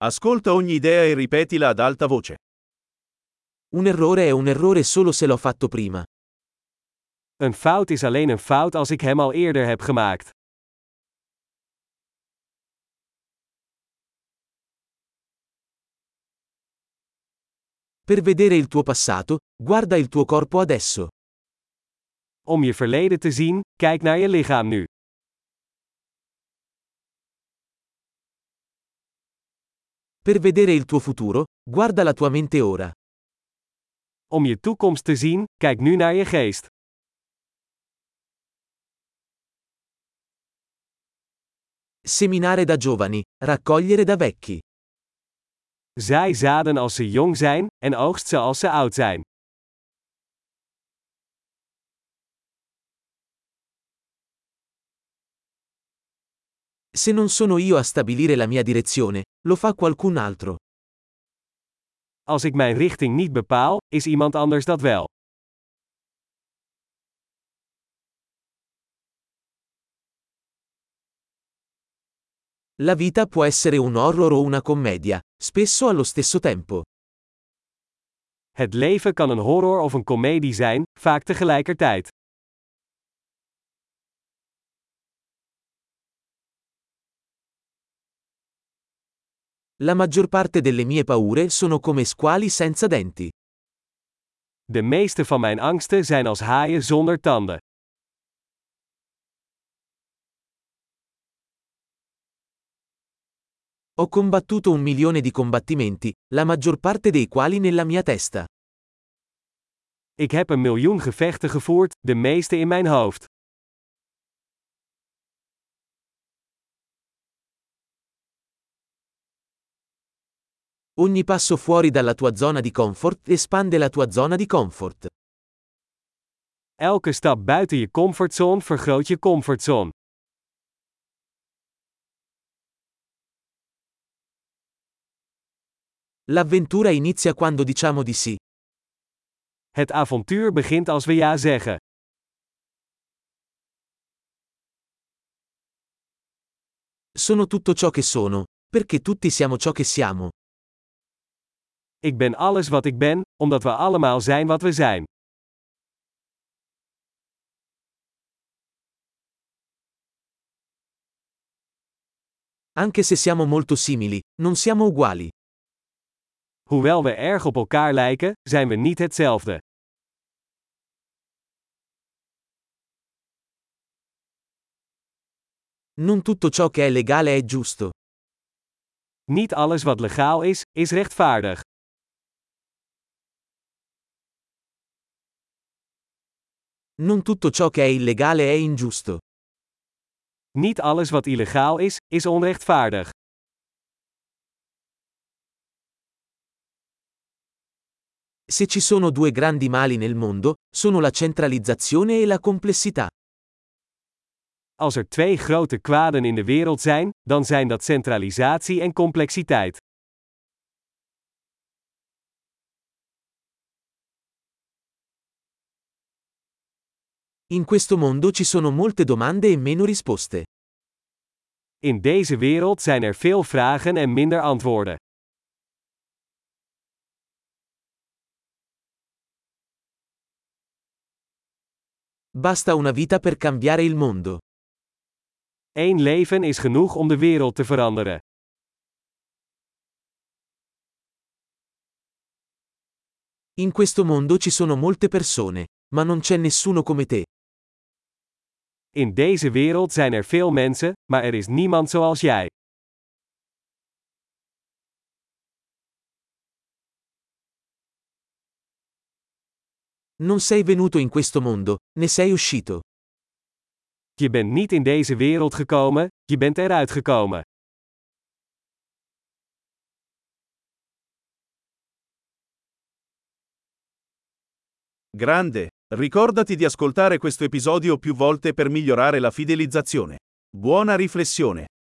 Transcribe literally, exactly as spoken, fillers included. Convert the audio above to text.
Ascolta ogni idea e ripetila ad alta voce. Un errore è un errore solo se l'ho fatto prima. Een fout is alleen een fout als ik hem al eerder heb gemaakt. Per vedere il tuo passato, guarda il tuo corpo adesso. Om je verleden te zien, kijk naar je lichaam nu. Per vedere il tuo futuro, guarda la tua mente ora. Om je toekomst te zien, kijk nu naar je geest. Seminare da giovani, raccogliere da vecchi. Zaai zaden als ze jong zijn, en oogst ze als ze oud zijn. Se non sono io a stabilire la mia direzione, lo fa qualcun altro. Als ik mijn richting niet bepaal, is iemand anders dat wel. La vita può essere un horror o una commedia, spesso allo stesso tempo. Het leven kan een horror of een komedie zijn, vaak tegelijkertijd. La maggior parte delle mie paure sono come squali senza denti. De meeste van mijn angsten zijn als haaien zonder tanden. Ho combattuto un milione di combattimenti, la maggior parte dei quali nella mia testa. Ik heb een miljoen gevechten gevoerd, de meeste in mijn hoofd. Ogni passo fuori dalla tua zona di comfort espande la tua zona di comfort. Elke stap buiten je comfortzone vergroot je comfortzone. L'avventura inizia quando diciamo di sì. Het avontuur begint als we ja zeggen. Sono tutto ciò che sono, perché tutti siamo ciò che siamo. Ik ben alles wat ik ben, omdat we allemaal zijn wat we zijn. Anche se siamo molto simili, non siamo uguali. Hoewel we erg op elkaar lijken, zijn we niet hetzelfde. Non tutto ciò che è legale è giusto. Niet alles wat legaal is, is rechtvaardig. Non tutto ciò che è illegale è ingiusto. Niet alles wat illegaal is, is onrechtvaardig. Se ci sono due grandi mali nel mondo, sono la centralizzazione e la complessità. Als er twee grote kwaden in de wereld zijn, dan zijn dat centralisatie en complexiteit. In questo mondo ci sono molte domande e meno risposte. In deze wereld zijn er veel vragen en minder antwoorden. Basta una vita per cambiare il mondo. Eén leven is genoeg om de wereld te veranderen. In questo mondo ci sono molte persone, ma non c'è nessuno come te. In deze wereld zijn er veel mensen, maar er is niemand zoals jij. Non sei venuto in questo mondo, ne sei uscito. Je bent niet in deze wereld gekomen, je bent eruit gekomen. Grande, ricordati di ascoltare questo episodio più volte per migliorare la fidelizzazione. Buona riflessione.